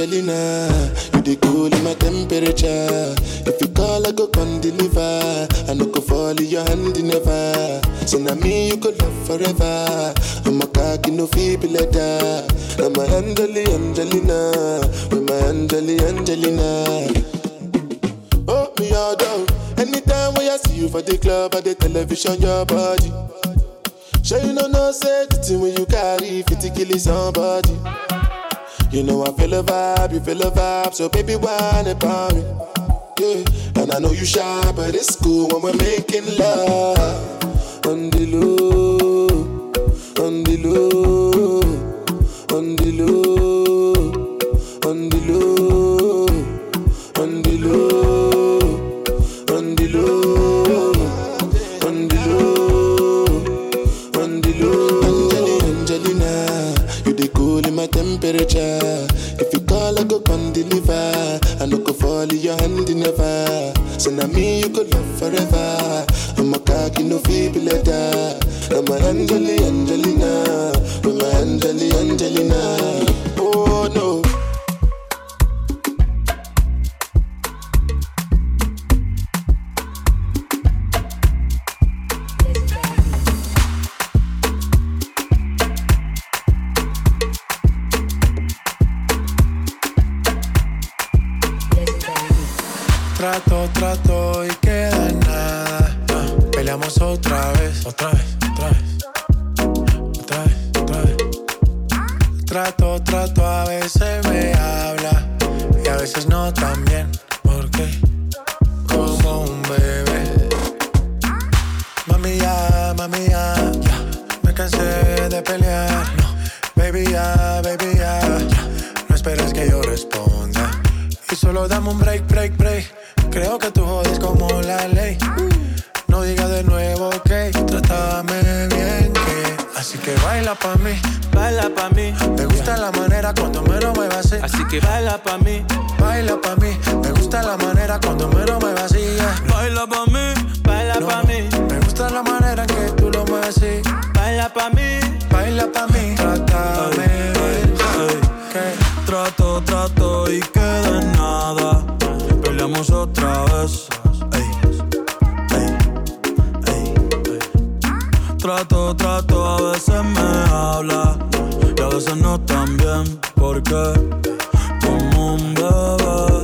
Angelina, you the cool in my temperature. If you call, I go come deliver. I no go fall in your hand never. So now me you could love forever. I'm a cocky no feeble letter. I'm a Angelina, with my Angelina. Oh me all down. Anytime when I see you for the club or the television, your body. Sure you know say the thing when you carry 50 kill somebody. You know I feel a vibe, you feel a vibe, so baby whine about me. Yeah, and I know you shy, but it's cool when we're making love. On the low, on the low, on the low, on the low, on the low, on the low, on the low, on the low. Angelina, you the cool in my temperature. If you call, I go come deliver. I no go fall in your hand never. So now me you could love forever. I'm a cocky no feeble letter. I'm a Angelina, I'm a Angelina. Oh no. Trato y queda en nada. Peleamos otra vez. Trato, a veces me habla y a veces no tan bien. ¿Por qué? Como un bebé. Mami ya, me cansé de pelear. Baby ya, no esperes que yo responda. Y solo dame un break. Creo que tú jodes como la ley. No digas de nuevo, ok. Trátame bien, que así que baila pa' mí. Me gusta la manera cuando me lo muevas así. Así que baila pa' mí. Me gusta la manera cuando me lo muevas así. Baila pa' mí. Me gusta la manera en que tú lo mueves así. Baila pa' mí. Trátame bien. Trato y queda en nada. Peleamos otra vez. Trato, a veces me habla y a veces no tan bien. ¿Por qué? Como un bebé.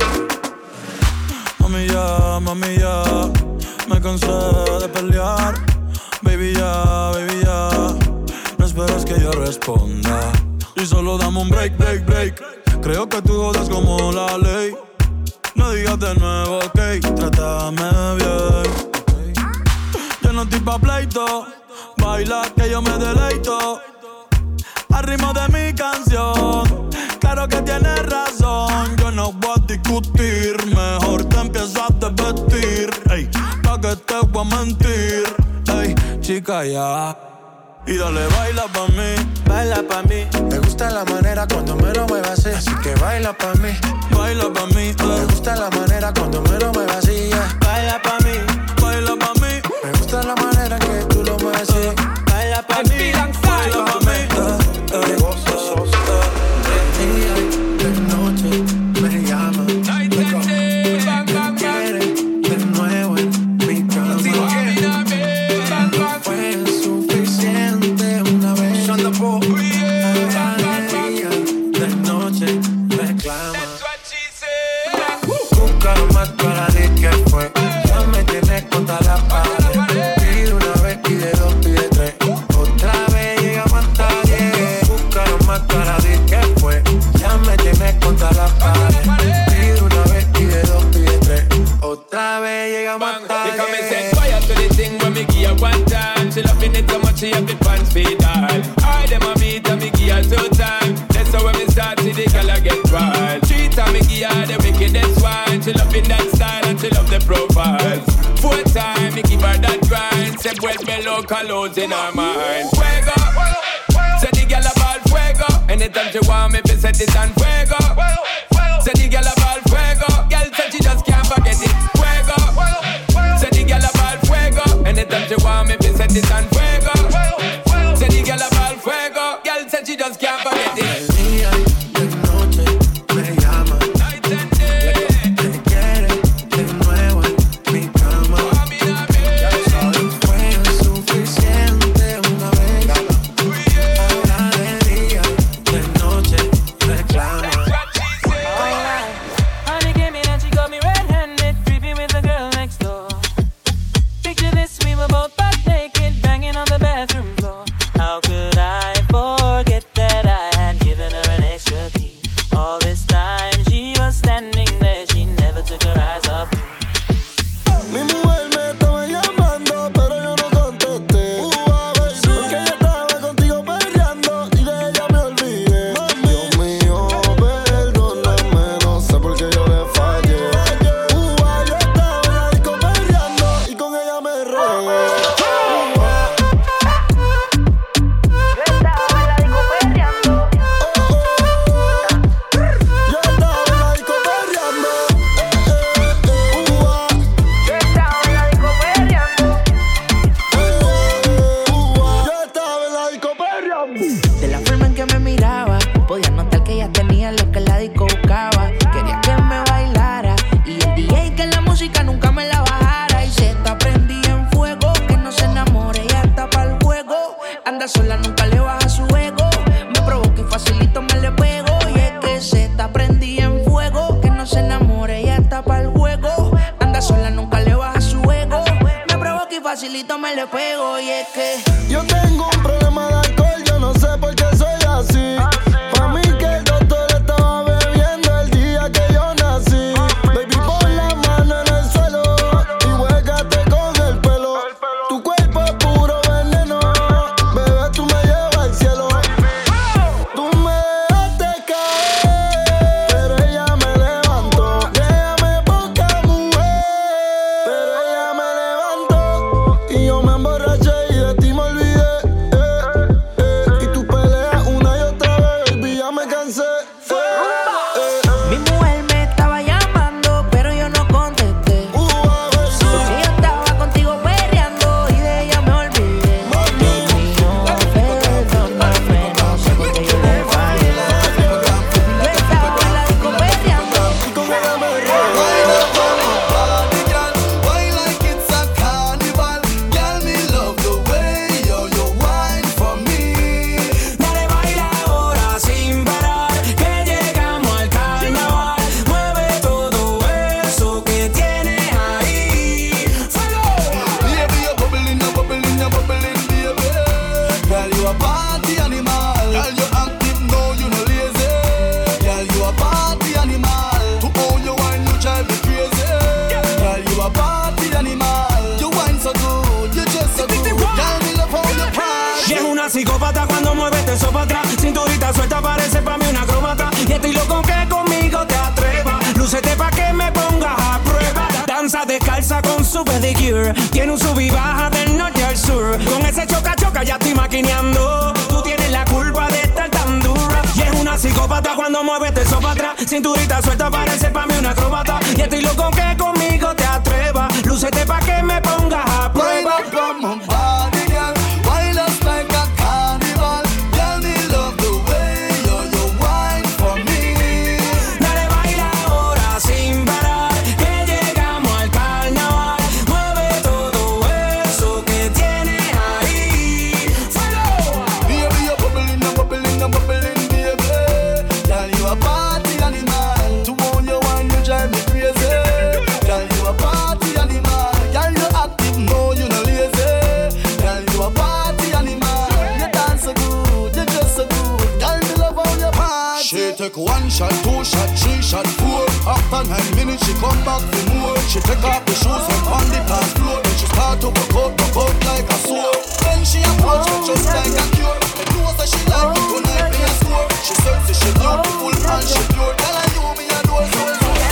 Mami ya, me cansé de pelear. Baby ya, no esperes que yo responda. Y solo dame un break. Creo que tú jodas como la ley. No digas de nuevo, ok. Trátame bien. Yo no estoy pa' pleito. Baila que yo me deleito. Al ritmo de mi canción. Claro que tienes razón. Yo no voy a discutir. Mejor te empiezas a desvestir. Ey, pa' que te voy a mentir. Ey, chica ya. Y dale, baila pa' mí. Me gusta la manera cuando me lo muevas así que baila pa' mí. Me gusta la manera cuando me lo muevas así. Baila pa' mí. Me gusta la manera en que tú lo mueves así. Baila pa' mí. Baila pa' mí. De día y de noche me llama. Me quiere de nuevo en mi cama. No fue suficiente una vez. De noche reclama. Busca más para decir que fue. Ya me tienes contra la pared. Pide una vez, pide dos, pide tres. Otra vez llega más tarde. Busca más para decir que fue. Ya me tienes contra la pared. Pide una vez, pide dos, pide tres. Otra vez llega más tarde. You come and set fire to the thing when me give her one time. She loving it so much she have the pants feed all. I dem a beat and me give her 2 times. That's how when me start see the girl I get wild. 3 times me give her the wickedest wine. She loving that style and she love the profiles. 4 times me give her that grind. Say vuelve loca loads in her mind. Fuego, say the girl a ball fuego. Anytime she want me, fi set it on fuego. Say the girl a ball fuego. Girl said she just can't forget it. Fuego, say the girl a ball fuego. Anytime she want me, fi set it on fuego. Say the girl a ball fuego. Girl said she just can't forget it. De día y de noche me llama. De la forma en que me miraba, podía notar que ella tenía lo que la disco buscaba. Quería que me bailara y el DJ que la música nunca me la bajara. Y se está prendida en fuego, que no se enamore, ella está pa'l juego. Anda sola, nunca le baja su ego. Me provoca y facilito me le pego. Y es que se está prendida en fuego, que no se enamore, ella está pa'l juego. Anda sola, nunca le baja su ego. Me provoca y facilito me le pego. Y es que yo tengo un problema de alcohol, yo no sé por qué soy así. Pa' mí que el doctor estaba bebiendo el día que yo nací. Baby, pon la mano en el suelo y huégate con el pelo. Tu cuerpo es puro veneno, bebé, tú me llevas al cielo. Tú me dejaste caer, pero ella me levantó. Déjame poca mujer, pero ella me levantó. Y yo me emborraché y de ti me olvidé. Y tú peleas una y otra vez, baby, ya me cansé. mi mujer me estaba llamando, pero yo no contesté. Porque yo estaba contigo perreando y de ella me olvidé. Perdóname, no sé por qué yo le fallé. Yo estaba en la disco perreando y con ella me Why like it's a carnival? Girl, me love the way you wine for me. Dale, baila ahora sin parar, que llegamos al carnaval. Mueve todo eso que tienes ahí. ¡Fuego! Baby, you're bubbling, baby. Girl, you a party animal. Girl, you active, no, you no lazy. Girl, you a party animal. To own your wine, you drive me crazy. Girl, you a party animal. You wine so good, you just so good. Girl, me love how you party. Y es una psicópata cuando mueve eso para atrás. Cinturita suelta, parece pa' mí una acróbata. Y estoy loco que conmigo te atrevas. Lúcete pa' que me pongas a prueba. Danza descalza con su pedicure. Tiene un sub y baja del norte al sur. Con ese choca-choca ya estoy maquineando. Tú tienes la culpa de estar tan dura. Y es una psicópata cuando mueve eso para atrás. Cinturita suelta, parece pa' mí una acróbata. Y estoy loco que conmigo te atrevas. Lúcete pa' que me pongas a Wine prueba. up on my body, girl. Wine us like a carnival. Girl, me love the way you wine for me. Dale, baila ahora sin parar, que llegamos al carnaval. Mueve todo eso que tienes ahí. ¡Fuego! Baby, you're bubbling, baby. Girl, you a party animal. To own your wine, you drive me crazy. Girl, you a party animal. Girl, you active, no, you no lazy. Girl, you a party animal. You dance so good, you just so good. Girl, me love how you party. She take 1 shot, 2 shot, 3 shot, 4. After 9 minutes, she come back for more. She take off the shoes and on the dance floor. Then she start to broke out like a sword. Then she approach me just like a cure. And know that she like it tonight, me a score. She sexy, she beautiful, and she pure. Tell her you me adore so.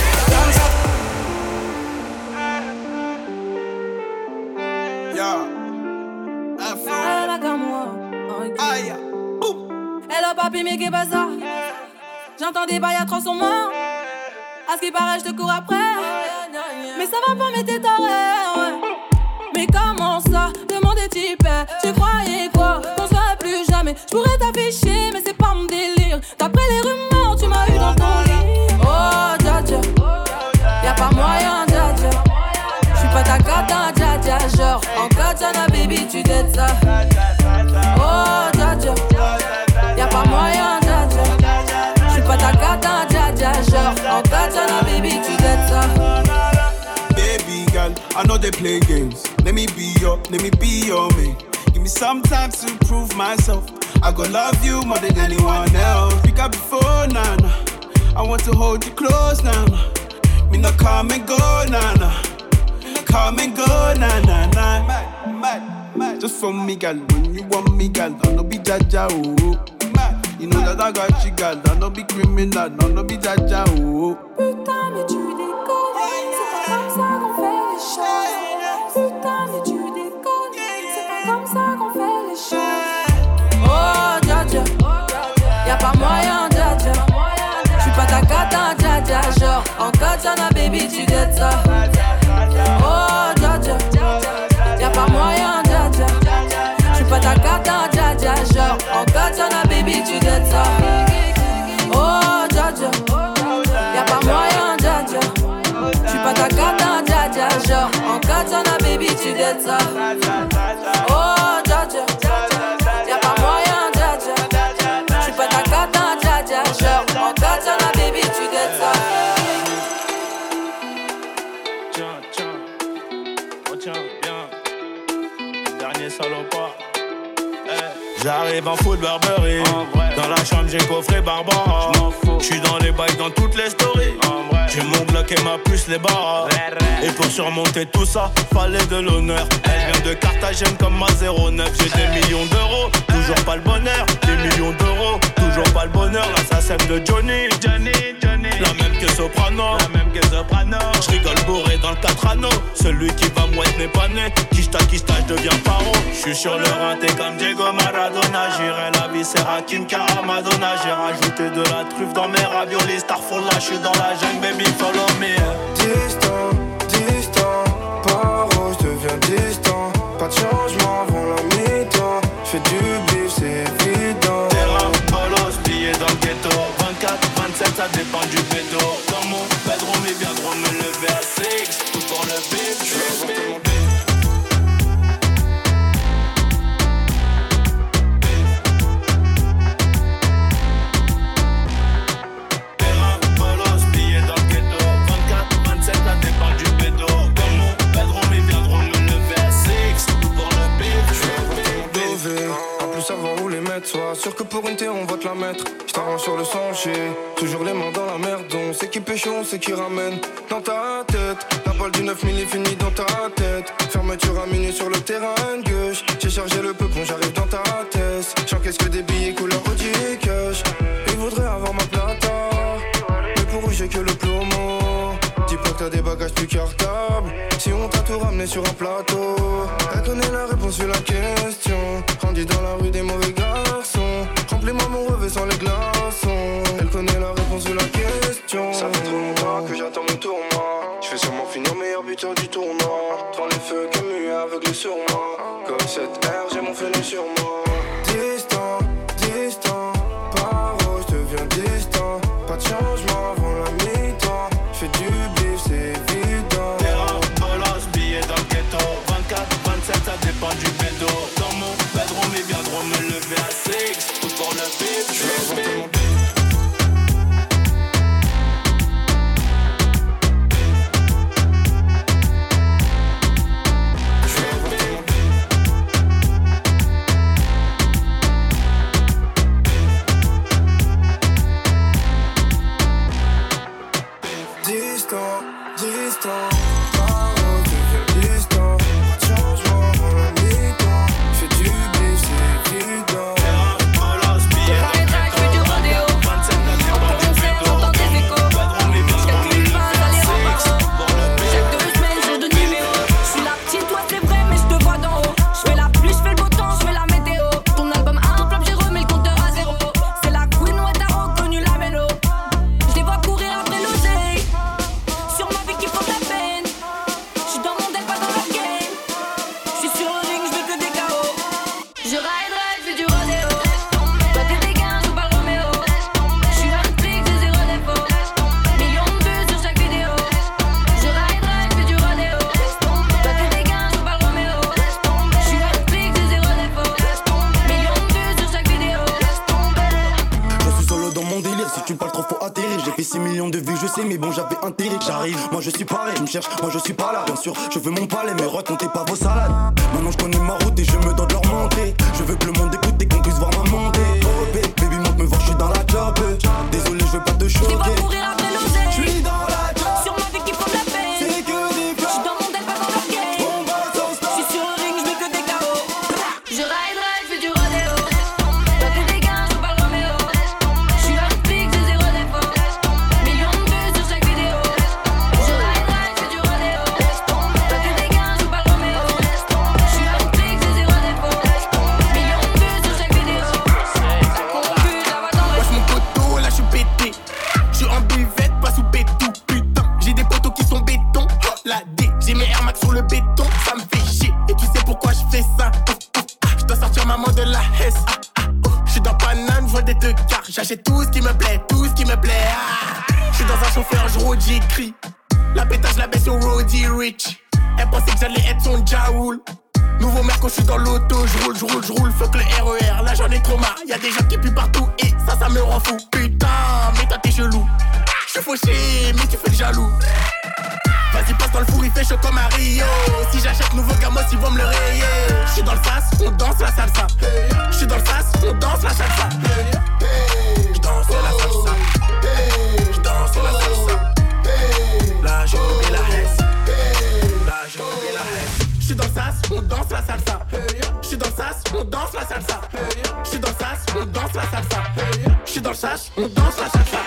Hello papi, mais qu'est-ce que ça? J'entends des bails à 300 morts. À ce qui paraît, je te cours après. Mais ça va pas, mais t'es taré. Mais comment ça? Demande est type. Tu croyais quoi? Qu'on serait plus jamais. Je pourrais t'afficher, mais c'est pas mon délire. D'après les rumeurs, tu m'as eu dans ton lit. Oh, dja dja. Y'a pas moyen, dja dja. J'suis pas ta cata, dja dja. Genre, en katana, baby, tu dettes ça. Oh, dja dja. Y'a pas moyen, dja dja. J'suis pas ta cata, dja dja. Genre, en katana, baby, tu dettes ça. Baby girl, I know they play games. Let me be your man. Give me some time to prove myself. I gon' love you more than anyone else. Pick up before, nana. I want to hold you close, nana. Me not come and go, nana. Come and go, nana. Mad. Just for me, girl. When you want me, girl, I no be jaja, oh. You know that I got you, girl. I no be criminal, no be jaja, oh. Putain, mais tu déconnes. C'est pas comme ça qu'on fait les choses. Putain, mais tu déconnes. C'est pas comme ça qu'on fait les choses. Oh, dja dja. Y'a pas moyen, dja dja. J'suis pas ta cata, dja dja. Genre, en katana, baby, tu dettes ça. Oh, dja dja. Y'a pas moyen, dja dja. J'suis pas ta cata. cata, dja dja. Genre en katana, baby, tu dettes ça. Oh, dja dja. Y'a pas moyen, dja dja. J'suis pas ta cata, dja dja. Genre en katana, baby, tu dettes ça. Oh, dja dja. Y'a pas moyen, dja dja. J'suis pas ta cata, dja dja. Genre en katana, baby, tu dettes ça. Salopard. J'arrive en foot Burberry. Dans la chambre j'ai coffré Barbara. J'suis dans les bails dans toutes les stories. J'ai mon Glock et ma puce les barres. Et pour surmonter tout ça, fallait de l'honneur. Elle vient de Carthagène comme ma 09. J'ai des millions d'euros, toujours pas le bonheur. Des millions d'euros, toujours pas le bonheur. L'assassin de Johnny. La même que Soprano. J'rigole bourré dans le 4 anneaux. Celui qui va mouette n'est pas né. Kishta, je deviens paro. J'suis sur le rinté comme Diego Maradona. J'irai la vie, c'est Hakim Karamadona. J'ai rajouté de la truffe dans mes raviolis. Starfall là, j'suis dans la jungle, baby, follow me. Distant, paro, j'deviens distant. Pas de changement avant la mi-temps. J'fais du bif, c'est évident. Terrain, bolos, billets dans le ghetto. 24, 27, ça dépend du pédo. Dans mon bedroom, ils viendront me lever à 6. Tout pour le bif, j'suis bif. Sois sûr que pour une terre on va te la mettre. J't'arrange sur le sentier, toujours les mains dans la merde. On sait qui pêche, on sait qui ramène. Dans ta tête, la balle du 9000 est finie dans ta tête. Fermeture à minuit sur le terrain de gauche. J'ai chargé le peupon, j'arrive dans ta tête. J'encaisse que des billets couleur Audi cash. Ils voudraient avoir ma plata, mais pour eux j'ai que le plomo. Dis pas que t'as des bagages plus cartables. Si on t'a tout ramené sur un plateau, elle connaît la réponse sur la question. Grandi dans la rue des mauvais garçons. Remplis-moi mon revêt sans les glaçons. Elle connaît la réponse sur la question. Ça fait trop longtemps que j'attends mon tournoi. Je vais sûrement finir meilleur buteur du tournoi. Devant les feux Camus aveuglé sur moi. Comme cette air, j'ai mon fenêtre sur moi. Distant, paro, j'deviens distant. Pas de changement avant la mi-temps. J'fais du bif, c'est évident. Terrain, bolos, billets dans le ghetto. 24, 27, ça dépend du pédo. Dans mon bedroom, ils viendront me lever à 6. Tout pour le bif, j'suis bif. Distant, paro, deviens distant. Changement avant la mi-temps. J'fais du bif, c'est évident. J'fais du rodéo. En concert, j'entends des échos. J'calcule pas dans les remparts. Chaque 2 semaines, change de numéro. J'suis la petite, toi c'est vrai, mais j'te vois d'en haut. J'fais la pluie, j'fais le beau temps, j'fais la météo. Ton album a un flop, j'ai remis le compteur à 0. C'est la queen, ouais, t'as reconnu la mélo. J'les vois courir après l'oseille. Sur ma vie qui font de la peine. J'suis dans mon deck, pas dans leur game. J'suis sur le ring, j'veux que des KO. Je ride, j'fais du rodéo. Toi t'es des gains, j'joue pas le Roméo. J'suis un flic, j'ai 0 défaut. Millions de vues sur chaque vidéo. Je ride, j'fais du rodéo. Toi t'es des gains, j'joue pas le Roméo. J'suis un flic, j'ai 0 défaut. Millions de vues sur chaque vidéo. Je suis solo dans mon délire, si tu parles trop faut atterrir. J'ai fait 6 millions de vues, je sais, mais bon j'avais intérêt. J'arrive, moi je suis pareil, je me cherche, moi je suis pas là. Bien sûr, je veux mon palais, mais racontez pas vos salades. Maintenant je connais ma route et je me dois de leur monter. Je veux que le monde écoute et qu'on puisse voir ma montée. Oh baby, monte me voir, je suis dans la job. Désolé, je veux pas te choquer. J'les vois courir après l'oseille. J'suis dans la job. Sur ma vie qui font de la peine. C'est que des flots. J'suis dans mon deck, pas dans leur game. On va sans stop. J'suis sur le ring, j'veux que des KO. Je ride, j'fais du rodéo. Toi t'es des gains, j'joue pas le Roméo. J'suis un flic, j'ai 0 défaut. Millions de vues sur chaque vidéo. Je ride, j'fais du rodéo. Toi t'es des gains, j'joue pas le Roméo. J'suis un flic, j'ai 0 défaut. Millions de vues sur chaque vidéo. des deux quarts. J'achète tout ce qui me plaît, tout ce qui me plaît. J'suis dans un chauffeur, j'rôde, j'écris. La pétage, la baisse au Roddy Rich. Elle pensait que j'allais être son Jaoul. Nouveau mec quand j'suis dans l'auto, j'roule. Fuck le RER, là j'en ai trop marre. Y'a des gens qui puent partout et ça me rend fou. Putain, mais toi t'es chelou. J'suis fauché, mais tu fais le jaloux. Vas-y passe dans le four, il fait chaud comme à Rio. Si j'achète nouveau gamos, ils vont me le rayer. J'suis dans le sas, on danse la salsa. J'suis dans le sas, on danse la salsa. J'danse la salsa. J'danse la salsa. Là j'ai oublié la hesse. Là j'ai oublié la hesse. J'suis dans le sas, on danse la salsa. J'suis dans le sas, on danse la salsa. J'suis dans le sas, on danse la salsa. J'suis dans le sas, on danse la salsa.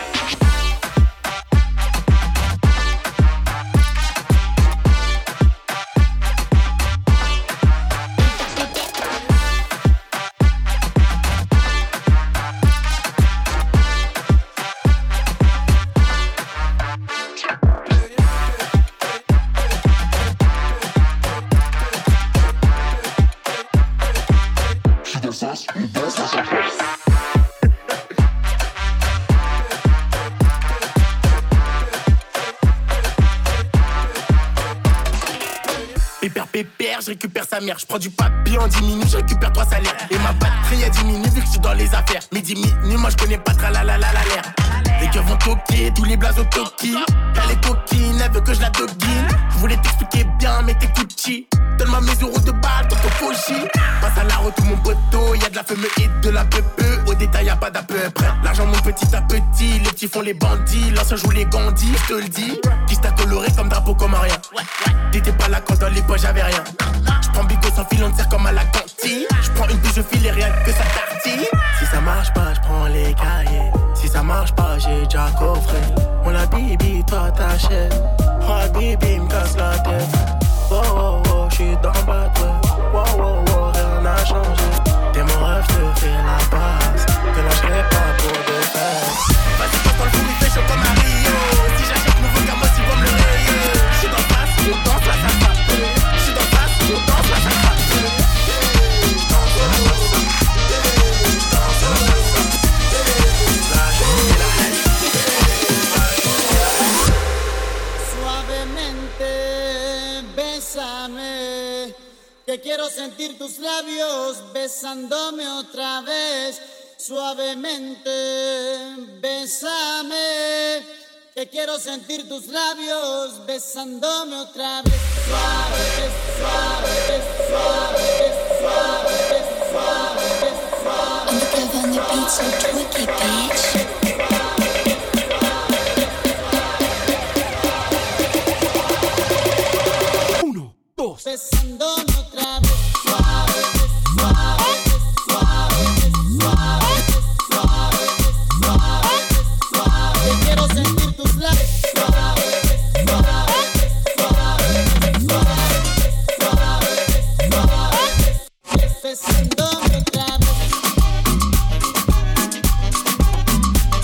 Pépère, je récupère sa mère. Je prends du papier en 10 minutes, je récupère 3 salaires. Et ma batterie a diminué vu que je suis dans les affaires. Mais 10 minutes, moi je connais pas tralalalala l'air. Les gars vont toquer, tous les blazes au toki. Elle est coquine, elle veut que je la doguine. Je voulais t'expliquer bien, mais t'écoutes chi. Donne-moi mes euros de balle, ton cochi. Passe à la route tout mon poteau, y'a de la fumée et de la peupeux. Au détail y'a pas d'à peu près. L'argent monte petit à petit, les petits font les bandits. L'ancien joue les gandis, je te le dis. Qui t'a coloré comme drapeau comme rien. T'étais pas là quand dans les poches j'avais rien. J'prends bigo sans fil, on te sert comme à la cantine. J'prends une bouche, je file et rien que ça tartine. Si ça marche pas, j'prends les cahiers. Si ça marche pas, j'ai déjà coffré. On la bibi, toi t'achètes. Oh bibi, m'casse la tête. Oh oh oh, j'suis dans le bateau. Oh oh oh, rien n'a changé. T'es mon rêve, j'te fais la passe. Te lâcherai pas pour des fesses. Vas-y, passe dans le four, il fait chaud comme à Rio. Si j'achète nouveau gamos, ils vont me le rayer. J'suis dans le face, on danse la salsa. J'suis dans le face, on danse la salsa. J'danse la salsa. J'danse la salsa. Là, j'ai oublié la haine. Suavemente, bésame. Que quiero sentir tus labios besándome otra vez. Suavemente, bésame. Que quiero sentir tus labios besándome otra vez. Suave, suave, suave, suave, suave, suave. I'm the club on the beat, so twicky, bitch. Uno, dos. Besándome otra vez. Suave, suave, suave, suave, suave, suave, suave. Que quiero sentir tus labios. Besándome otra vez.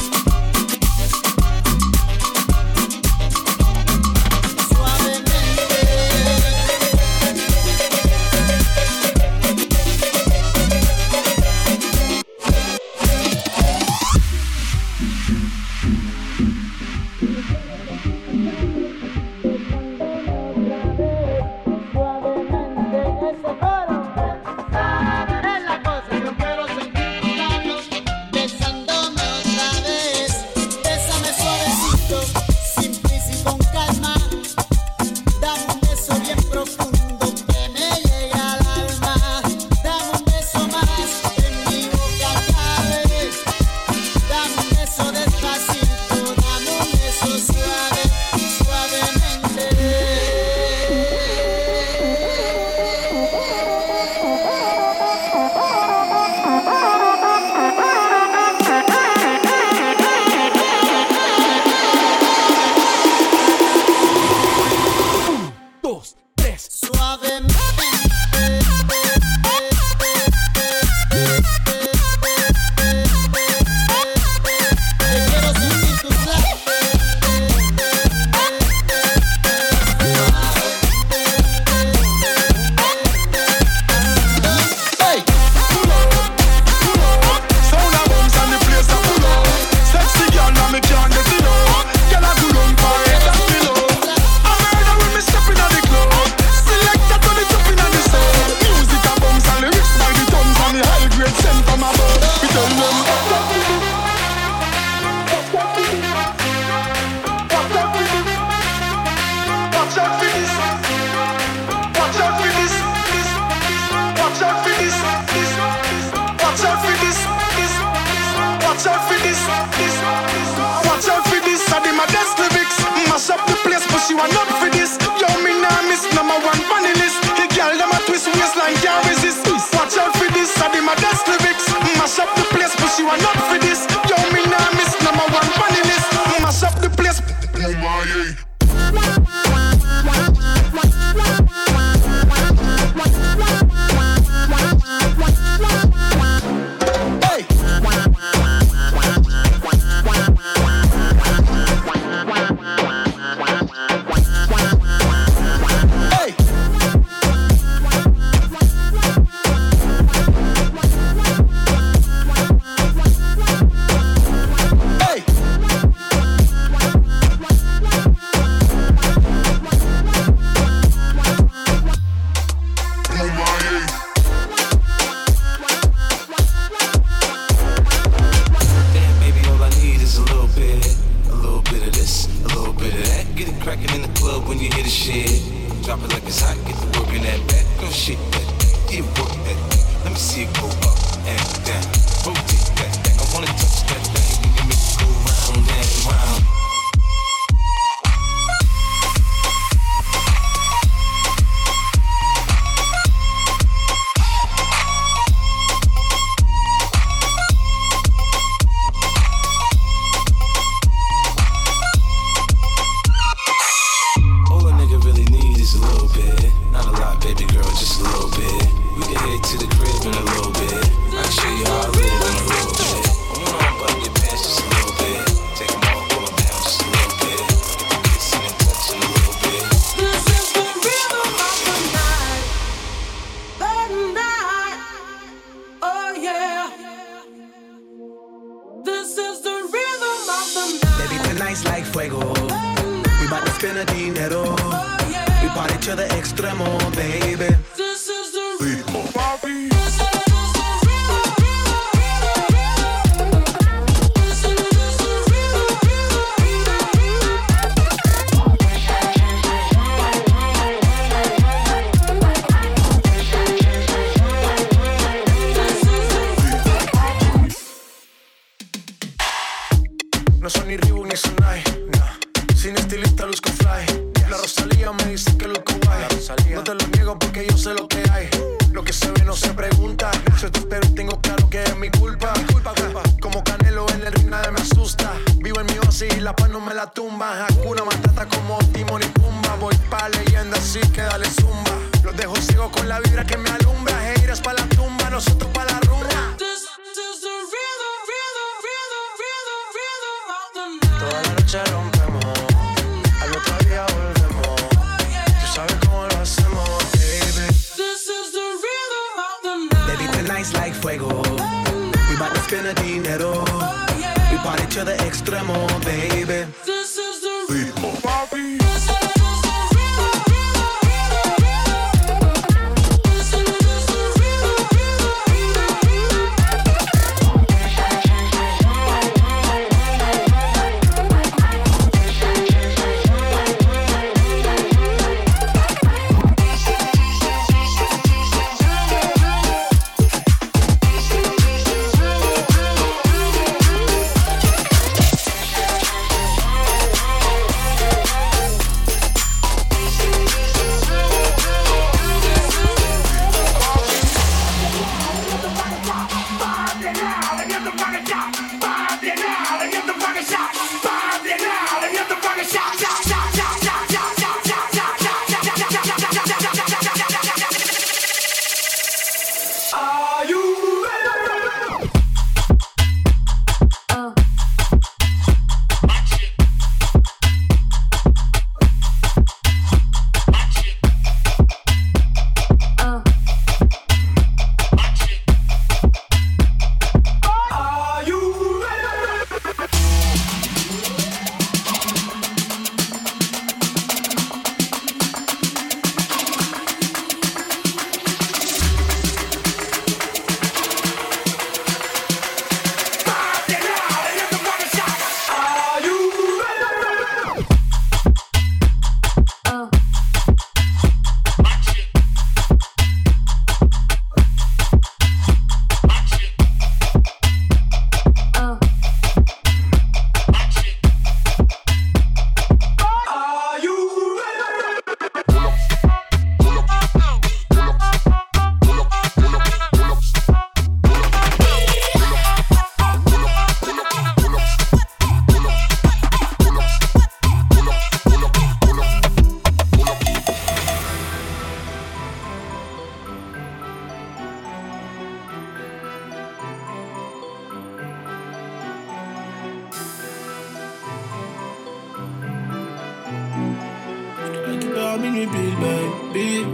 Watch out for this. Watch out for this. I did my best lyrics. Mash up the place, but she want up for this. Yo, me nah miss number one funny list. The girl them a twist waistline can't resist. Watch out for this. I did my best lyrics. Mash up the place, but she want up for this. Yo, me nah miss number one funny list. Mash up the place. Oh my. No son ni Reebok ni Sonai, nah. Sin estilista luzco fly. La Rosalía me dice que luzco guay. No te lo niego porque yo sé lo que hay. Lo que se ve no se pregunta. Yo te espero y tengo claro que es mi culpa. Como Canelo en el ring nadie me asusta. Vivo en mi oasis y la paz no me la tumba. Hakuna Matata como Timon y Pumba. Voy pa' leyenda así que dale zumba. Los dejo ciego con la vibra que me alumbra. Heiras pa' la tumba, nosotros pa' la rumba. Toda la noche rompemos, al otro día volvemos. Tú sabes cómo lo hacemos, baby. This is the rhythm of the night. Baby, tonight's like fuego. We bout to spend the dinero. We party to the extremo, baby. This is the ritmo. à minuit pile, baby.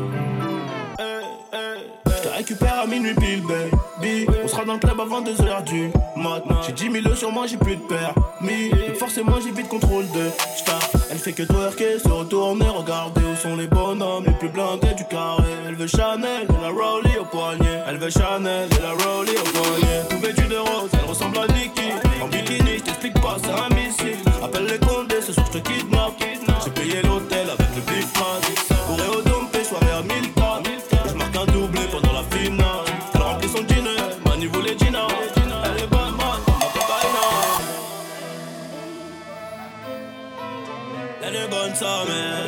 Je te récupère à minuit pile, baby. On sera dans le club avant 2h du mat. J'ai 10 000 sur moi, j'ai plus de permis. Donc forcément, j'ai vite contrôle de star. Elle fait que twerker, se retourner, regarder où sont les bonhommes les plus blindés du carré. Elle veut Chanel et la Rowley au poignet. Elle veut Chanel et la Rowley au poignet. Tout vêtue de rose, elle ressemble à Nicki. En bikini, je t'explique pas, c'est un missile. Appelle les condés, ce soir je te kidnappe. J'ai payé l'hôtel avec le Big Man. Bourré au dompé, soirée à 1000 tonnes. Je marque un doublé pendant la finale. Elle remplit son dîner, Mani voulait Gina. Elle est bonne, man, ma cocaïna. Elle est bonne, sa mère.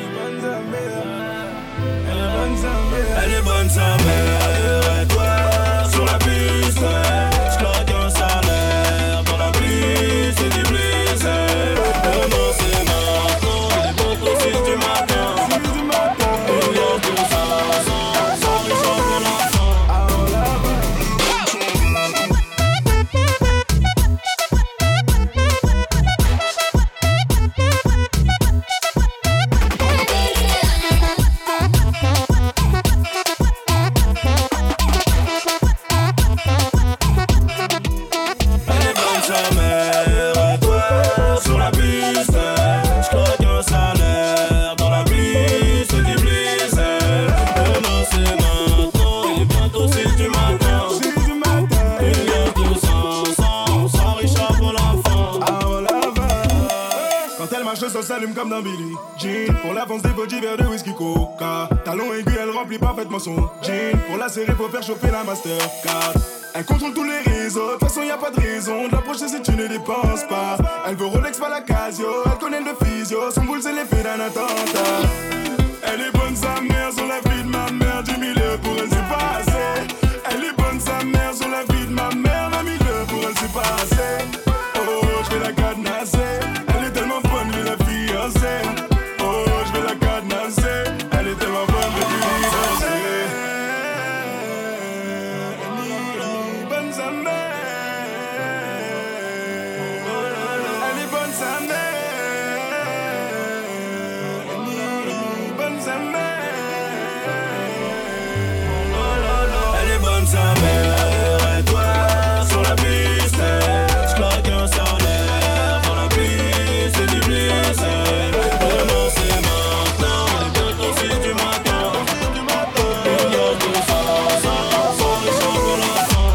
Elle est bonne, sa mère. Et toi, sur la piste, j'claque un salaire. Dans la pluie, c'est du blizzard. Demain, c'est maintenant. Il est bon au 6 du matin. Il y a tout ça, sans richard pour l'enfant. Ça s'allume comme dans Billie Jean. Pour l'avance des body verres de whisky coca. Talon aigu, elle remplit parfaitement son jean. Pour la série, faut faire chauffer la Mastercard. Elle contrôle tous les réseaux, de toute façon y'a pas de raison de l'approcher si tu ne dépenses pas. Elle veut Rolex, pas la Casio, elle connaît le physio. Son boule c'est l'effet d'un attentat. Elle est bonne sa mère sur la vie de ma mère. 10 000 pour elle c'est pas assez. Elle est bonne sa mère sur la vie de ma mère. 20 000 pour elle c'est pas assez. Oh, je vais la cadenasser. Elle est tellement bonne, je vais la fiancer. Oh, je vais la cadenasser. Elle est tellement bonne, je vais la fiancer. Elle est bonne sa mère. Elle est bonne sa mère. Elle est bonne sa mère. Elle est bonne sa mère. Et toi, sur la piste, j'claque un salaire. Dans la pluie, c'est du blizzard. Demain c'est maintenant, il est bientôt 6 du matin. Il y a tout ça, sans richard pour l'enfant.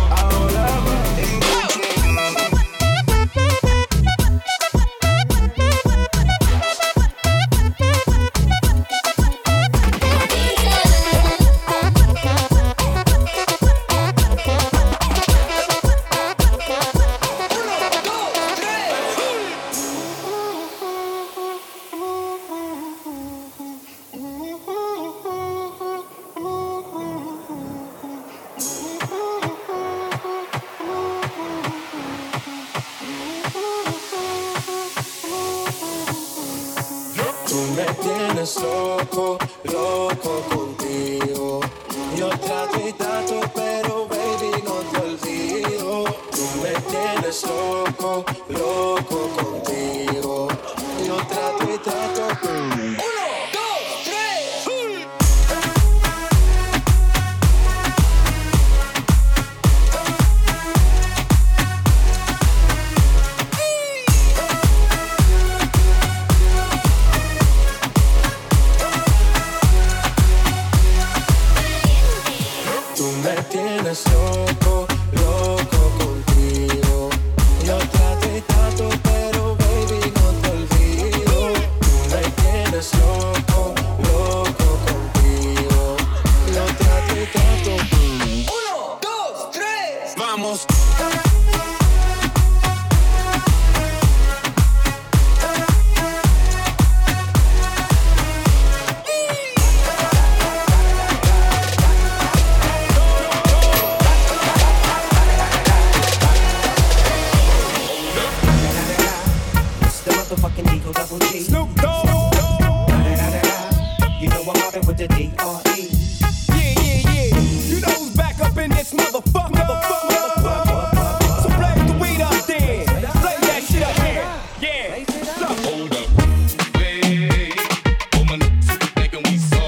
Tú me tienes loco, loco contigo. Yo trato y trato, pero baby no te olvido. Tú me tienes loco, loco contigo. Yo trato y trato, pero... 1, 2, 3. Tú me tienes loco, loco contigo. Yo trato y trato, pero baby no te olvido. Tú me tienes loco, loco contigo. Yo trato y trato. 1, 2, 3. Vamos. Motherfucking Eagle Double G. Snoop Dogg. You know I'm mobbing with the D.R.E. Yeah. You know who's back up in this motherfucker. So blaze the weed up then. Blaze that shit up here. Yeah. Hold up. Wait. Woman, thinking we so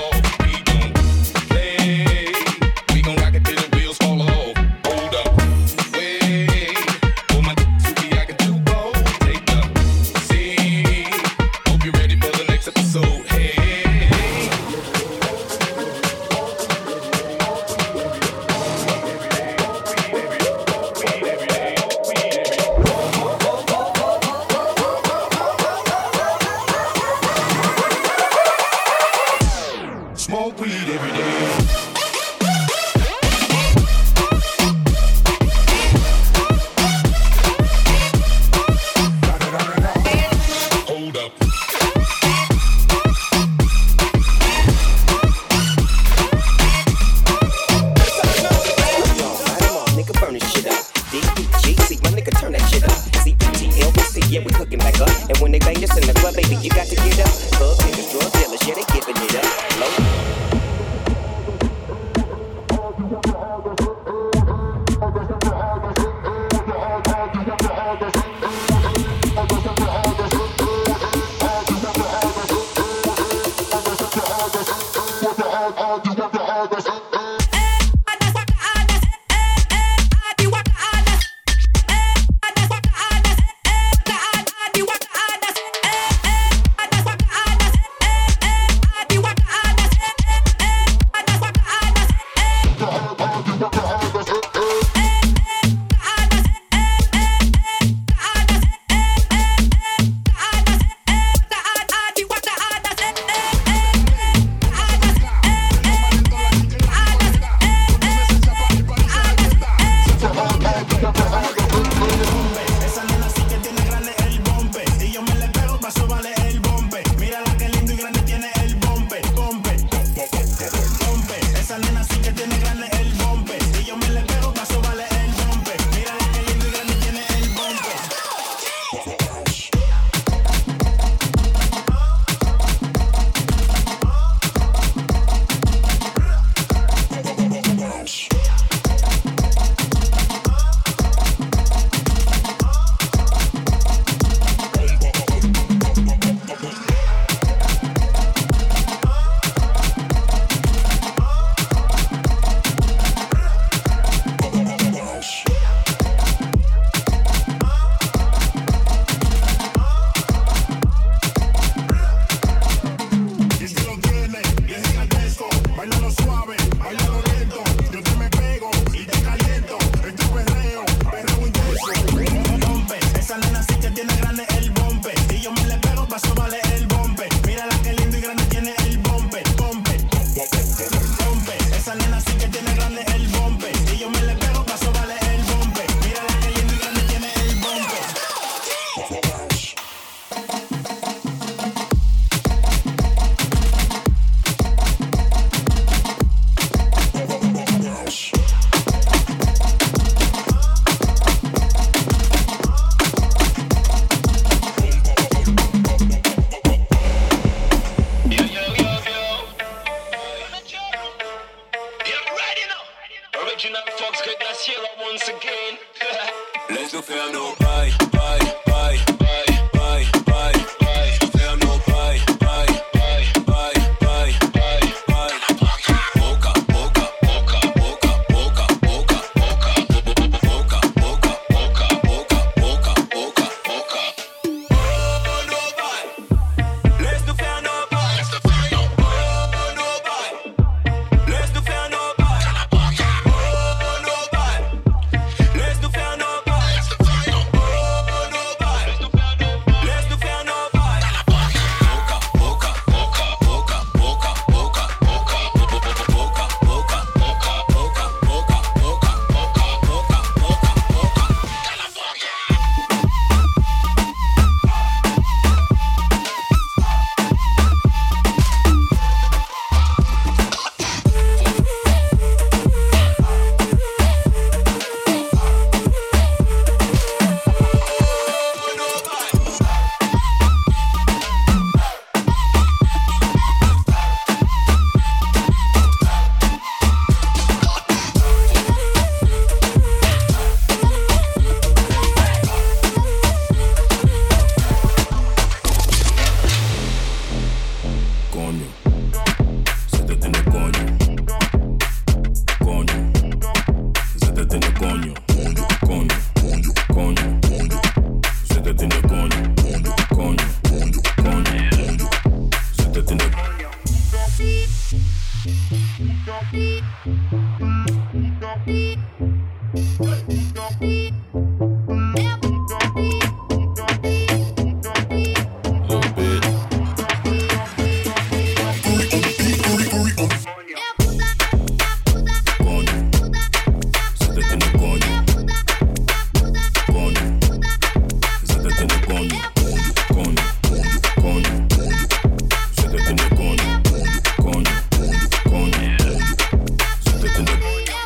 Yeah, we hooking back up. And when they bang us in the club, baby, you got to get up. Club niggas, drug dealers, yeah, they giving it up. Low.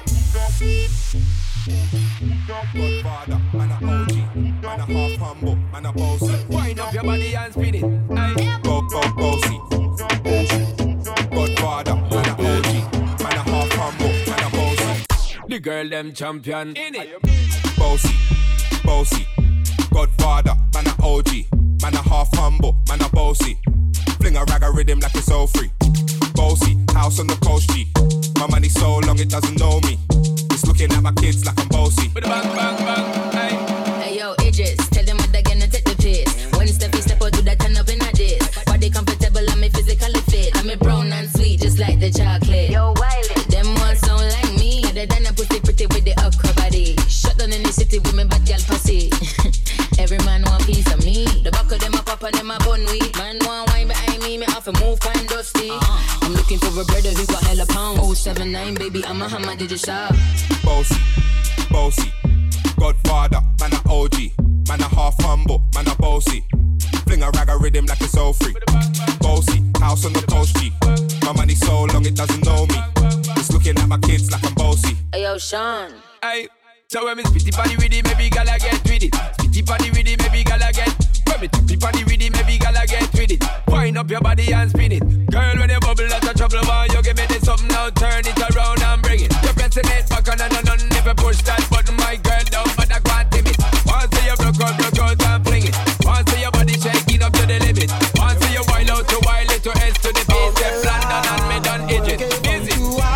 Godfather, man a OG, man a half humble. man a bossy. Wind up your body and spin it. Bossy. Godfather, man a OG. Man a half humble, man a bossy. The girl them champion in it. Bossy. Godfather, man a OG. Man a half humble, man a bossy. Fling a rag a rhythm like it's all free. Bossy, house on the coast G. My money so long it doesn't know me. It's looking at my kids like I'm bossy. With a bang, bang, bang, hey. Hey yo, Idris, tell them what they're gonna take the piss. When step out, do that turn up in a diss. Body comfortable, I'm a physically fit. I'm a brown and sweet, just like the chocolate. Yo, Wiley, them ones sound like me. Other than a pussy pretty with the upper body. Shut down in the city with me bad girl pussy. Every man want piece of me. The back of them a pop and them a bun weed. Man want wine behind me have to move kind dusty. I'm looking for a brother who got hella pound. 079, baby, I'm a hammer, did you shop? Bossy. Godfather, man a OG. Man a half humble, man a bossy. Fling a rag a rhythm like it's all free. Bossy, house on the coast G. My money so long it doesn't know me. It's looking at my kids like I'm bossy. Hey yo, Sean. Hey, so when me spitty body with it, maybe gala get with it. Spitty body with it, maybe gala get. When me tippy body with it, maybe gala get with it. Wind up your body and spin it. Girl, when you bubble out of trouble, man, you give me this something now. Turn it around and bring it. You're pressing it back on and never push that button, my girl, down, but I can't tame it. Once you broke out and fling it. Once your body shaking up to the limit. Once you wild out to wild it to S to the base. Step London and me done edge it. Busy.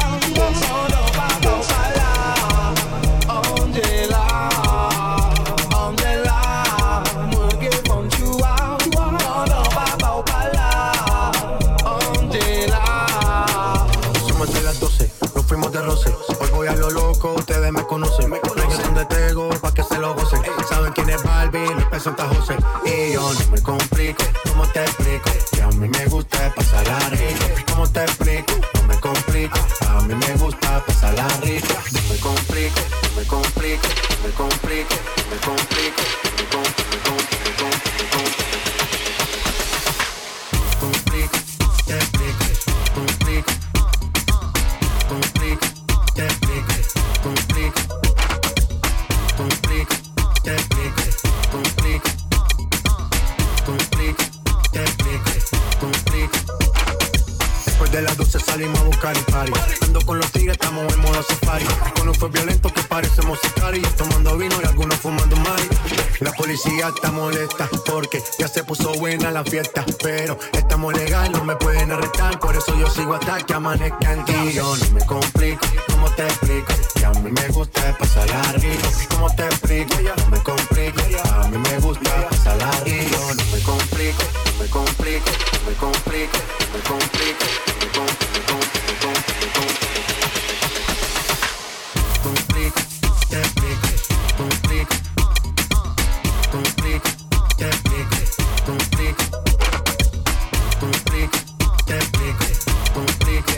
Ustedes me conocen, reggaetón de Tego pa' que se lo gocen. Saben quién es Barbie, les presenta José. Y yo no me complico, ¿cómo te explico? Que a mí me gusta pasarla rico. ¿Cómo te explico? No me complico, a mí me gusta pasarla rico. No me complico, no me complico, no me complico, no me complico, no me complico, complico, te explico, complico, complico, te explico. Complico, te explico, complico, te explico, complico. Después de las 12 salimos a buscar el party. Ando con los tigres, estamos en modo safari. Con un fue violento que parecemos sicarios. Tomando vino y algunos fumando mari. La policía está molesta porque ya se puso buena la fiesta. Pero estamos legal, no me pueden arrestar. Por eso yo sigo hasta que amanezca en ti. Yo no me complico, ¿cómo te explico? Que a mí me gusta pasarla rico. ¿Cómo te explico? No me complico, a mí me gusta pasarla rico. No me complico, no me complico, no me complico, no me complico, no me complico, complico, te explico, complico, complico, te explico, complico, complico, te explico, complico.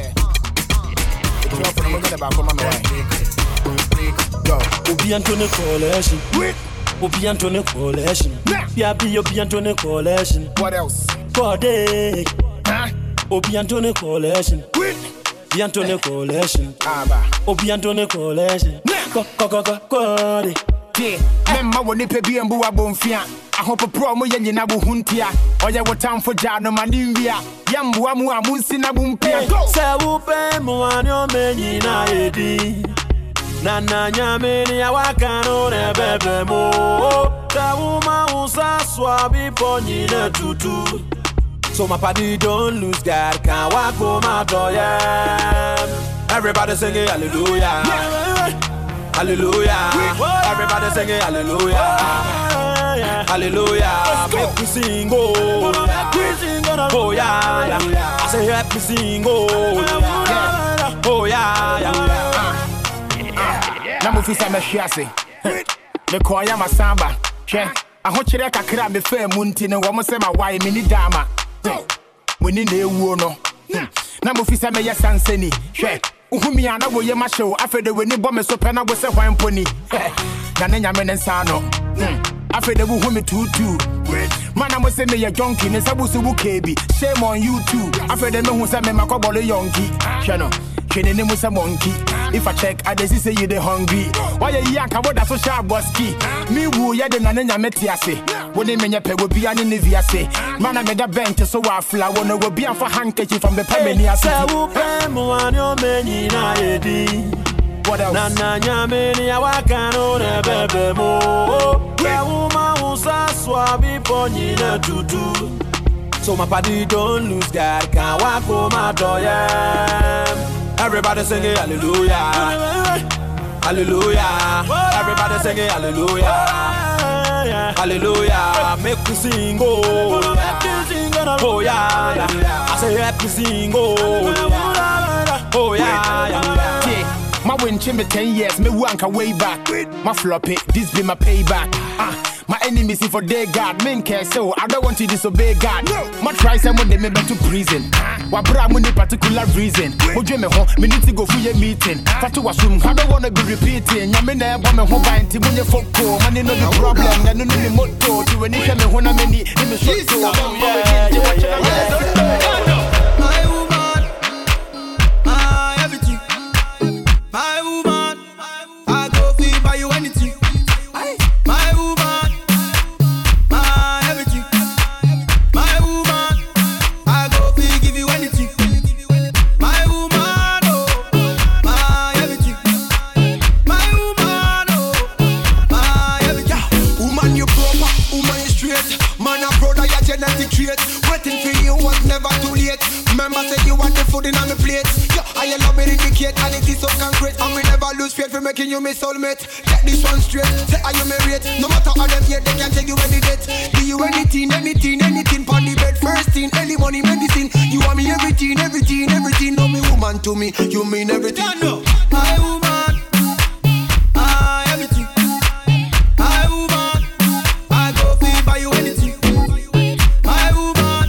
Obi Anthony Collection. Obi Anthony Collection. Obi Anthony Collection. What else? Body. Obi Anthony Collection. Obi Anthony Collection. Obi Anthony Collection. Body. Remember when they pay me and boo a bonfia. I hope a promo yen na buntia. Or ya what time for Jano Manivia. Yambu amu amusina bumpia. Say upe muanyo meni na edi. Nana nyameni ya wakano ne bebe mo. Ta uma usa swabi ponyi ne tutu. So my party don't lose God, can't walk home out of everybody singing hallelujah. Hallelujah. Everybody singing hallelujah. Hallelujah. Make me sing, oh. Oh yeah. I say help me sing, oh. Oh yeah. Namu fisa me shiase. Me koya masamba. Che. Aho kire kakra me fa munti ne wo mo se ma why me ni dama. Woni na ewu no. Namu fisa me yesanseni. Hwe. Uhumi ana wo ye ma show afede weni bo me so pe na go se hwan poni. Na ne nyame ne nsa no. Afede wo humi tutu. Mana mo se me ye junkie ne sabusu bu kebi. Shame on you too. Afede me hu se me makobole yonki. Hwe no. Hwe ne mu se monkey. If I check, I just say you the hungry. Why you yank about that social bossy? Me woo ya the nanya metiase. When they mean your peg will be an inviase. Man, I made a bench so I fly. Wanna will be for handkerchief from the Pemenia. What else? Nana nyameni ya wakano ne bebe mo. Ya uma usa swabi ponyi ne tutu. So my party don't lose God, can't walk home my door. Everybody sing it, hallelujah, hallelujah. Everybody sing it, hallelujah, hallelujah. Make me sing, oh yeah. I say happy sing, oh yeah. My win chimney 10 years, me wank way back. My floppy, this be my payback. My enemies see for their God, men care so I don't want to disobey God. My try someone they may be to prison. What brought me particular reason? Who dream me home, me need to go for your meeting. Fatu wasum, I don't want to be repeating. Ya me never want me home by inti when you fuck go. Money no the problem, I no need motto. To any time me when I many, in me short so. My woman, my everything. My woman, I go feel buy you anything. My woman, my everything. My woman, I go feel give you anything. My woman, oh, my everything. My woman, oh, my everything. Woman, you proper, woman, you straight. Man, a brother, your genetic trait. Waiting for you was never too late. Remember, say you want the food in on the plate. I love me indicate and it is so concrete. And we never lose faith for making you my soulmate. Get this one straight, say are you married? No matter how them yet, they can take you any date. Do you anything, anything, anything pon the bed. First thing, early money, medicine. You want me everything, everything, everything. No me woman to me, you mean everything. My woman, everything. My woman, I go feel by you anything. My woman,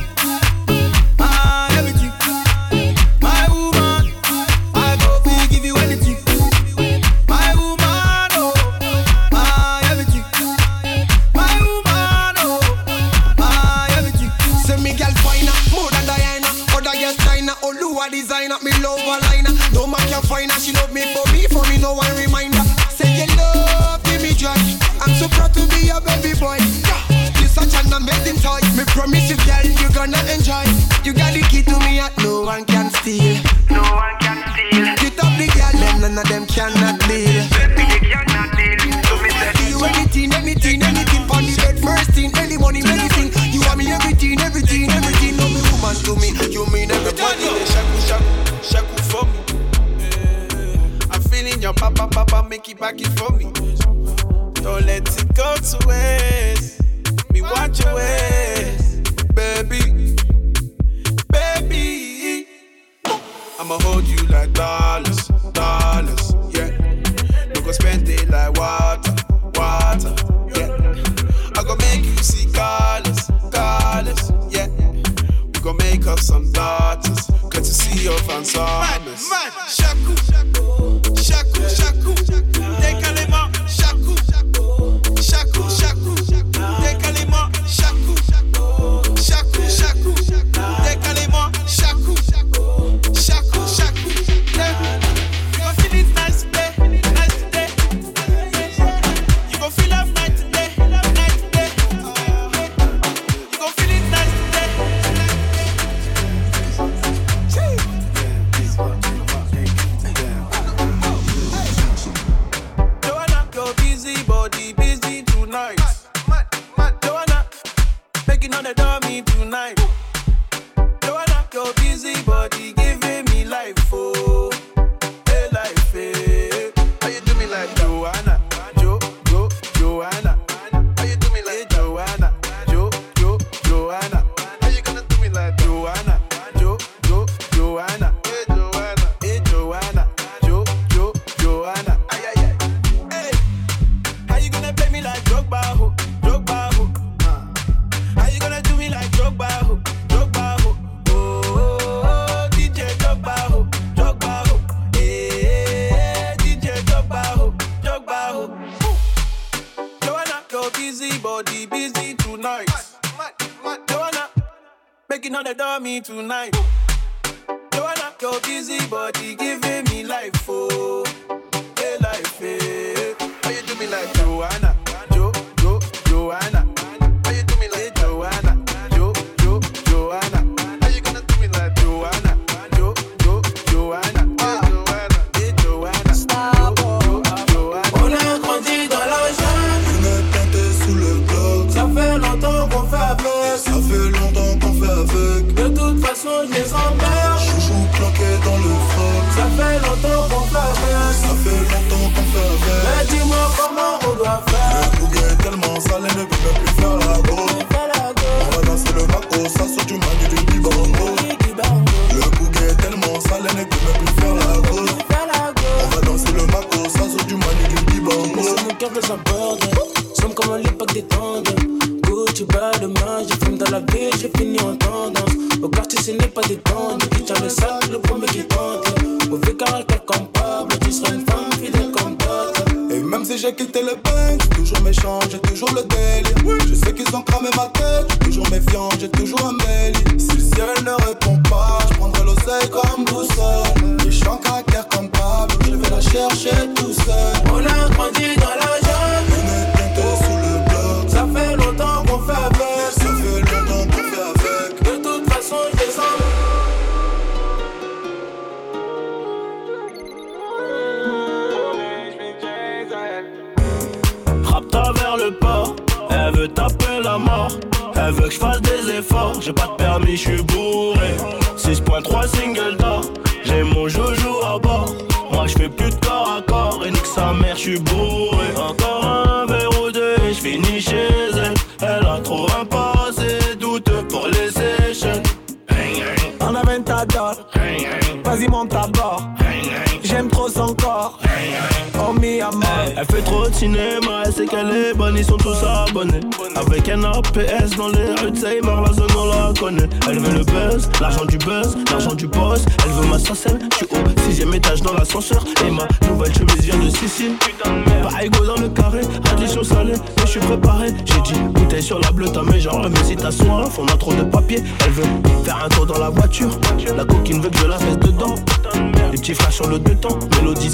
everything. My woman, I go feel give you anything. My woman, oh, my everything. My woman, oh, my everything. Say me girl finer, more than Diana. Other girls China, Oluwa designer. Me love her liner. No man can find her. She love me, for me no one reminder. Say you love, give me joy. I'm so proud to be your baby boy. You such an amazing toy. Me promise you, girl, you gonna enjoy. You got the key to me, and no one can steal. No one can steal. Get up the girl, them none of them cannot deal. Baby, they cannot deal. So me say, do you anything, anything, anything pon the bed. First thing, early money, medicine. You want me everything, everything, everything. No me woman to me, you mean everything. Shaku, shaku, shaku for me. I'm feeling your papa, make it back it for me. Don't let it go to waste. Me want your ways, baby, baby. I'ma hold you like dollars, dollars, yeah. No go spend it like water, water, yeah. I go make you see colors, colors, yeah. We gon' make up some daughters, good to see your fans summers. Shaku, shaku, shaku, décalez-moi, shaku, shaku, shaku, décalez-moi, shaku, shaku, shaku, décalez-moi, shaku, shaku, shaku, yeah. You gon' feel it nice today, nice today. You gon' feel love night today, night today. You gon' feel it nice today. Joanna, your busy body busy tonight. Joanna, making on the dummy tonight. Joanna, your busy body giving me life, oh, hey life, hey. How you do me like Joanna, Joanna? How you do me like Joanna, Joanna? How you gonna do me like Joanna, Joanna? Hey Joanna, hey Joanna, Joanna. Ay ay ay. Hey, how you gonna play me like Drogba, ho? How you gonna do me like Drogba, ho? Oh, DJ Drogba, ho. Hey, DJ Drogba, ho. Joanna, your busy body busy tonight. Joanna, making all the dummy tonight. Joanna, Your busy body giving me life, oh, hey life, hey. How you do me like Joanna, Joanna? How you do me like Joanna, Joanna? How you gonna do me like Joanna, Joanna? Hey Joanna, Stop, Joanna. On a grandi dans la jungle. On est planté sous le bloc. Ça fait longtemps qu'on fait avec. Ça fait longtemps qu'on fait avec. De toute façon, je les emmerde. Chouchou planqué dans le froc. Ça fait longtemps qu'on fait avec. Ça fait longtemps qu'on fait avec. Mais dis-moi comment on doit faire. Le bouquet est tellement salé, ne peut même plus faire la go. On va danser le maco, ça saute du manu du bibango. Le bouquet est tellement salé, ne peut même plus faire la go. On va danser le maco, ça saute du manu du bibango. C'est mon cœur que j'aborde. Somme comme à l'époque des tendes. Gucci bas demain, j'ai fume dans la ville, j'ai fini en tendance. Au quartier ce n'est pas des tendes. Qui tient le sac, le premier qui tente. Mauvais caractère comme Pablo, tu seras une femme fidèle comme d'autres. Et même si j'ai quitté le bain, j'ai toujours méchant, j'ai toujours le délire. Je sais qu'ils ont cramé ma tête, j'ai toujours méfiant, j'ai toujours un mail. Si le ciel ne répond pas, je prendrai l'oseille comme boussole. Je suis en caractère comme Pablo, je vais la chercher tout seul. On a grandi dans la jungle, on est planté sous le bloc. Ça fait longtemps qu'on fait avec, ça fait longtemps qu'on fait avec. De toute façon, je les emmène. Rapta vers le port, elle veut taper la mort. Elle veut que je fasse des efforts, j'ai pas de permis, je suis bourré. 6.3 single d'or, j'ai mon joujou à bord. Moi je fais plus de corps à corps, et nique sa mère, je suis bourré. Encore un verre ou deux, et je finis chez elle. Elle a trop un passé douteux pour les sessions. En aventador, vas-y monte à bord. J'aime trop son corps. Oh mi amor. Elle fait trop de cinéma, elle sait qu'elle est bonne, ils sont tous abonnés. Avec un APS dans les rues de Seymour, la zone on la connaît. Elle veut le buzz, l'argent du boss. Elle veut ma sarcelle, je suis au 6ème étage dans l'ascenseur. Et ma nouvelle chemise vient de Sicile. Pas égaux dans le carré, addition salée, mais je suis préparé. J'ai dit bouteille sur la bleue, t'as mes genre, mais si t'as soif, on a trop de papier. Elle veut faire un tour dans la voiture, la coquine veut que je la mette dedans. Les petits flashs sur le deux temps, mélodie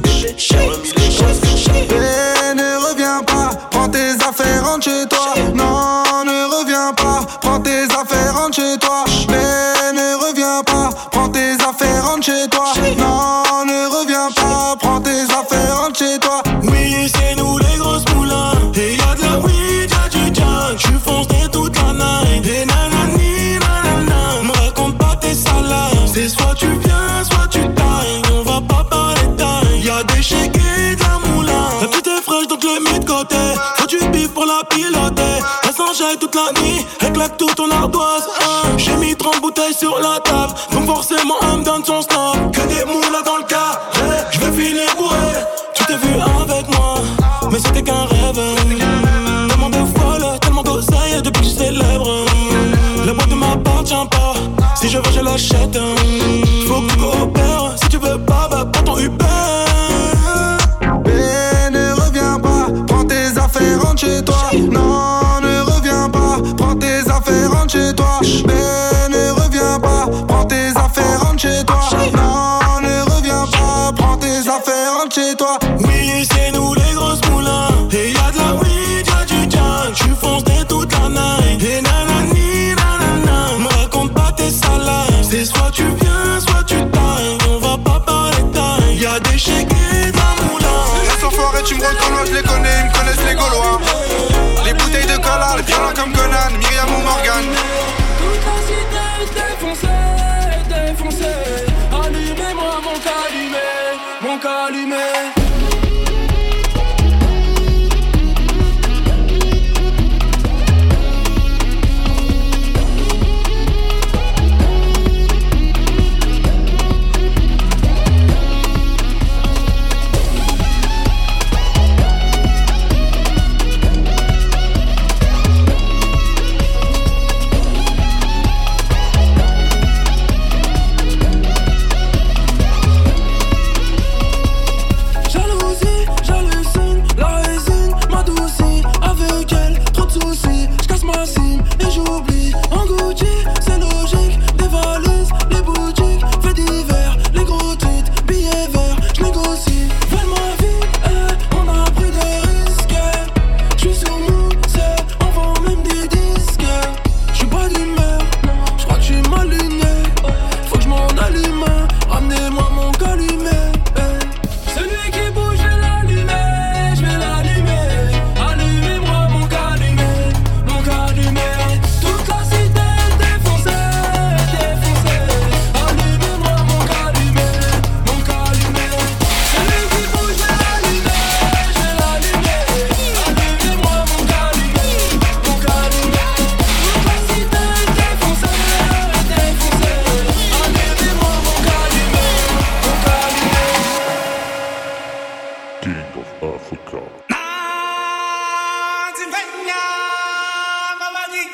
Ne reviens pas, prends tes affaires, rentre chez toi. Non, ne reviens pas, prends tes affaires, rentre chez toi. Mais ne reviens pas, prends tes affaires, rentre chez toi. Non, ne reviens pas, prends tes affaires, rentre chez toi. Oui, c'est nous les grosses moulins. Et y'a de la weed, y'a du junk. J'suis foncé toute la night. Et nanani, nanana. Me raconte pas tes salades. C'est soit tu viens, soit tu tailles. On va pas parler de taille. Y'a des chèques et de la moulin. La petite est fraîche donc je l'ai mis de côté. Faut du bif pour la piloter. Elle s'enjaille toute la nuit. Elle claque toute ton ardoise. J'ai mis 30 bouteilles sur la table. Donc forcément elle me donne son stop. Que des moulins dans le cas. Je vais finir bourré. Tu t'es vu avec moi, mais c'était qu'un rêve. Tellement de folle, tellement d'oseille depuis que je célèbre. La boîte ne m'appartient pas. Si je veux, je l'achète. Faut que tu coopères. Si tu veux pas, bah prends ton Uber. Mais ne reviens pas, prends tes affaires, rentre chez toi. Non, ne reviens pas, prends tes affaires, rentre chez toi. Mais ne reviens pas, prends tes affaires, rentre chez toi. Non, ne reviens pas, prends tes affaires, rentre chez toi. Oui, c'est nous les grosses moulins. Et y'a de la weed, y'a du junk. J'suis foncé toute la night. Et nanani, nanana. Me raconte pas tes salades. C'est soit tu viens, soit tu tailles. On va pas parler de taille. Y'a des chèques et de la moulin. Les enfoirés, tu me reconnais, je les connais, ils me connaissent les Gaulois. Les bouteilles de cola, les violents comme Conan, Myriam ou Morgan. Toute la cité défoncée, défoncée. Allumez-moi mon calumet. En Gucci, c'est logique, des valises, les boutiques, faits divers, les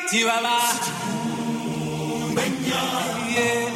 Chihuahua. Yeah.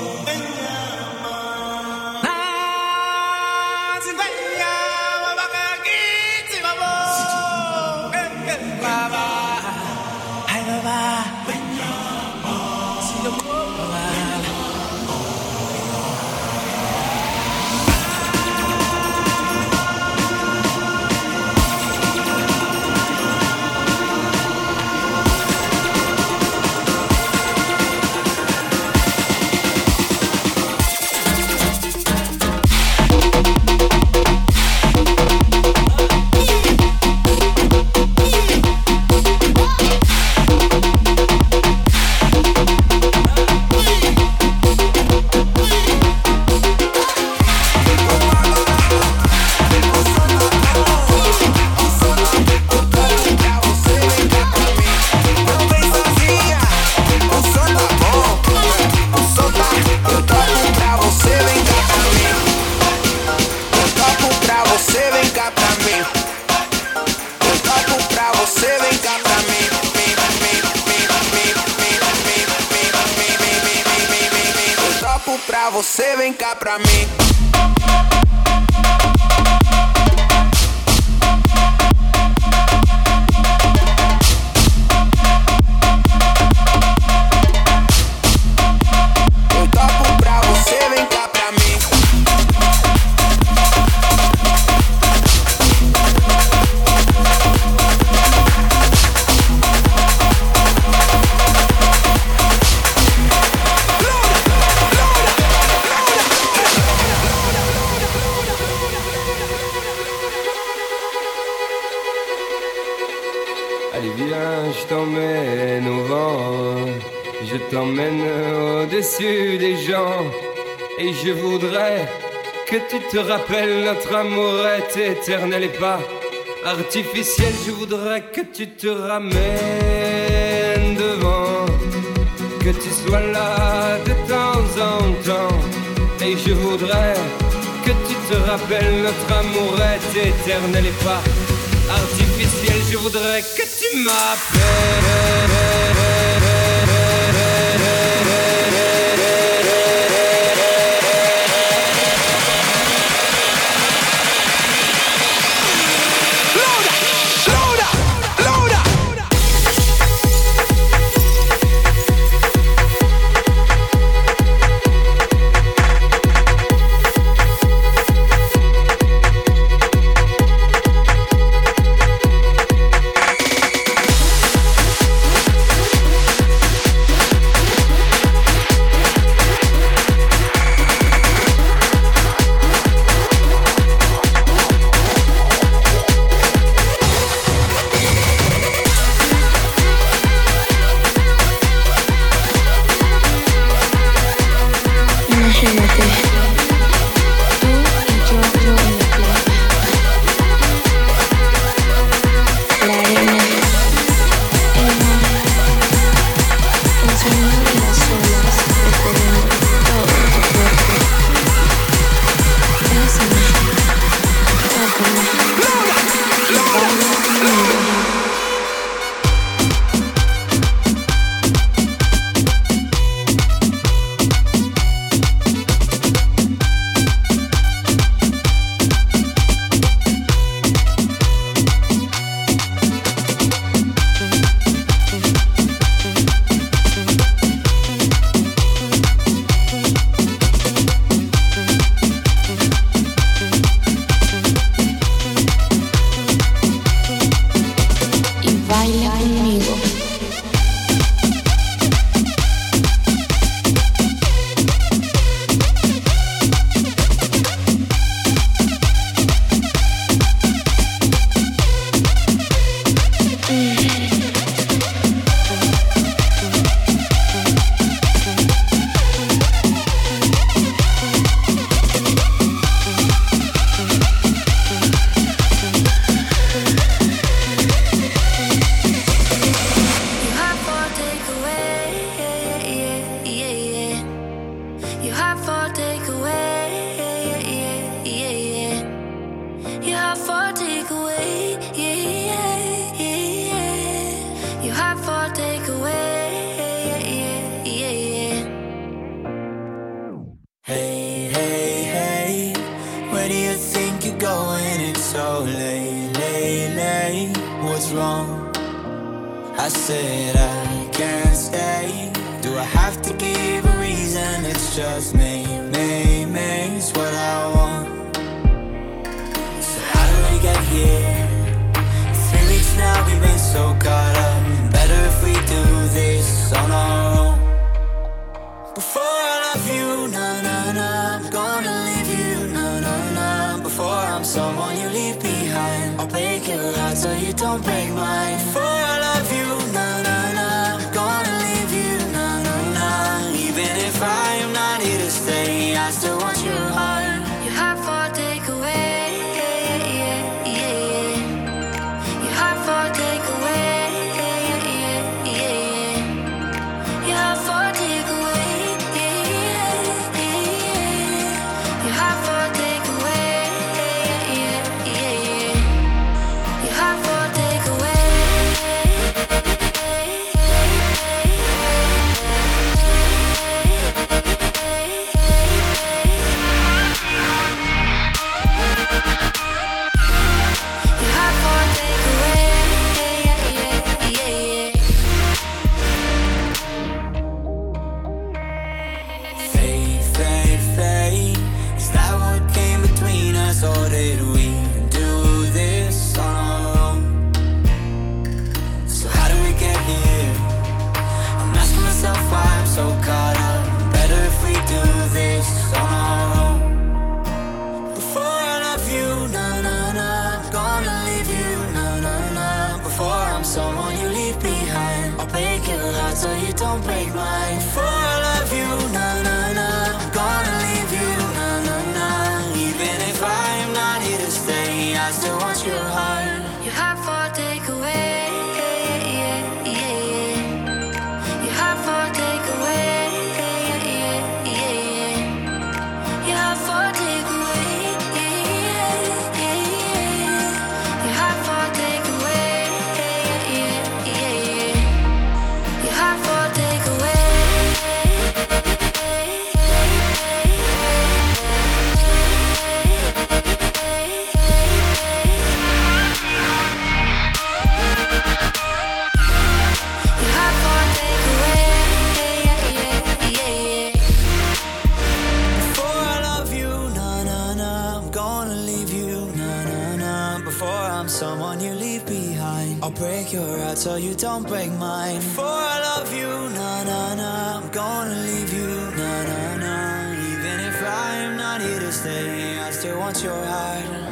Pra você, vem cá pra mim. Eu topo pra você, vem cá pra mim. Je t'emmène au vent, je t'emmène au-dessus des gens. Et je voudrais que tu te rappelles, notre amour est éternel et pas artificiel. Je voudrais que tu te ramènes devant, que tu sois là de temps en temps. Et je voudrais que tu te rappelles, notre amour est éternel et pas artificiel. Je voudrais que tu m'appelles. take away. I said I can't stay. Do I have to give a reason? It's just me, it's what I want. So how do we get here? 3 weeks now, we've been so caught up. Better if we do this on our own. Before I love you, nah, nah, nah, I'm gonna leave you, nah, nah, nah. Before I'm someone you leave behind, I'll break your heart so you don't break mine. Before I love you, nah, nah, nah, I'm gonna leave you, nah, nah, nah. Even if I am not here to stay, I still want your heart. Your heart for takeaway, yeah, yeah, yeah. Your heart for takeaway, yeah, yeah, yeah. Your heart for takeaway. Or did we do this on our own? So how do we get here? I'm asking myself why I'm so caught up. Better if we do this on our own. Before I love you, nah, nah, nah, I'm gonna leave you, nah, nah, nah. Before I'm someone you leave behind, I'll break your heart so you don't break mine. Before I love you, nah, nah, nah, I'm gonna leave you, nah, nah, nah. Even if I am not here to stay, I still want your heart. Your heart for takeaway, yeah, yeah, yeah. Your heart for takeaway, yeah, yeah, yeah. Your heart for takeaway, yeah, yeah, yeah. Your heart for takeaway, yeah, yeah, yeah. Your heart for takeaway. Someone you leave behind, I'll break your heart so you don't break mine. Before I love you, nah, nah, nah, I'm gonna leave you, nah, nah, nah. Even if I am not here to stay, I still want your heart.